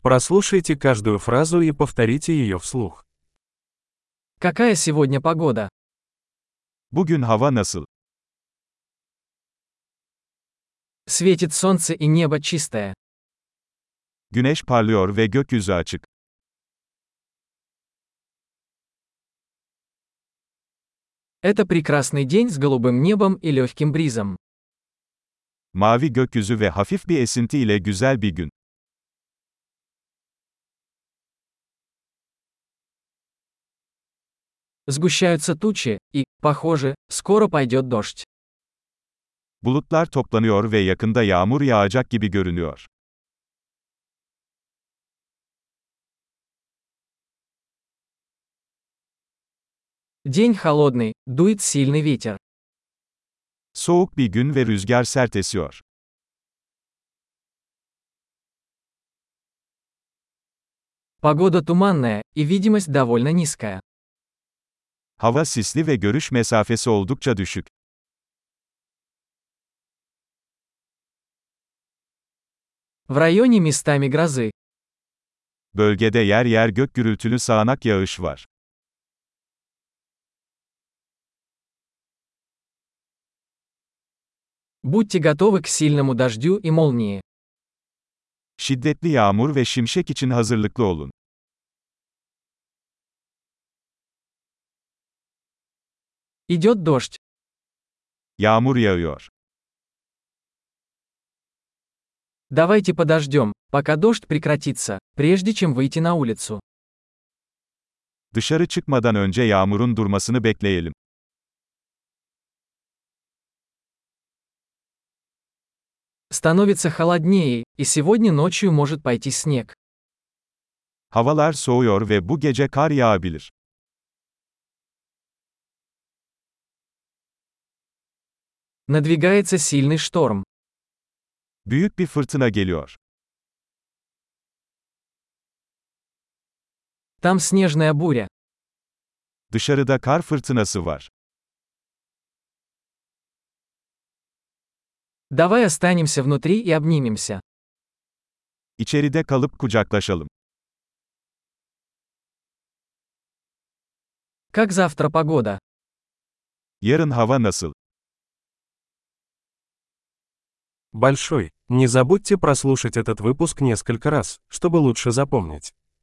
Прослушайте каждую фразу и повторите ее вслух. Какая сегодня погода? Bugün hava nasıl? Светит солнце и небо чистое. Güneş parlıyor ve gökyüzü açık. Это прекрасный день с голубым небом и легким бризом. Mavi gökyüzü ve hafif bir esinti ile güzel bir gün. Сгущаются тучи, и, похоже, скоро пойдет дождь. Bulutlar toplanıyor ve yakında yağmur yağacak gibi görünüyor. День холодный, дует сильный ветер. Soğuk bir gün ve rüzgar sert esiyor. Погода туманная, и видимость довольно низкая. Hava sisli ve görüş mesafesi oldukça düşük. В районе местами грозы. Bölgede yer yer gök gürültülü sağanak yağış var. Будьте готовы к сильному дождю и молнии. Şiddetli yağmur ve şimşek için hazırlıklı olun. Идет дождь. Yağmur yağıyor. Давайте подождем, пока дождь прекратится, прежде чем выйти на улицу. Dışarı çıkmadan önce yağmurun durmasını bekleyelim. Становится холоднее, и сегодня ночью может пойти снег. Havalar soğuyor ve bu gece kar yağabilir. Надвигается сильный шторм. Büyük bir fırtına geliyor. Там снежная буря. Dışarıda kar fırtınası var. Давай останемся внутри и обнимемся. İçeride kalıp kucaklaşalım. Как завтра погода? Yarın hava nasıl? Большой. Не забудьте прослушать этот выпуск несколько раз, чтобы лучше запомнить.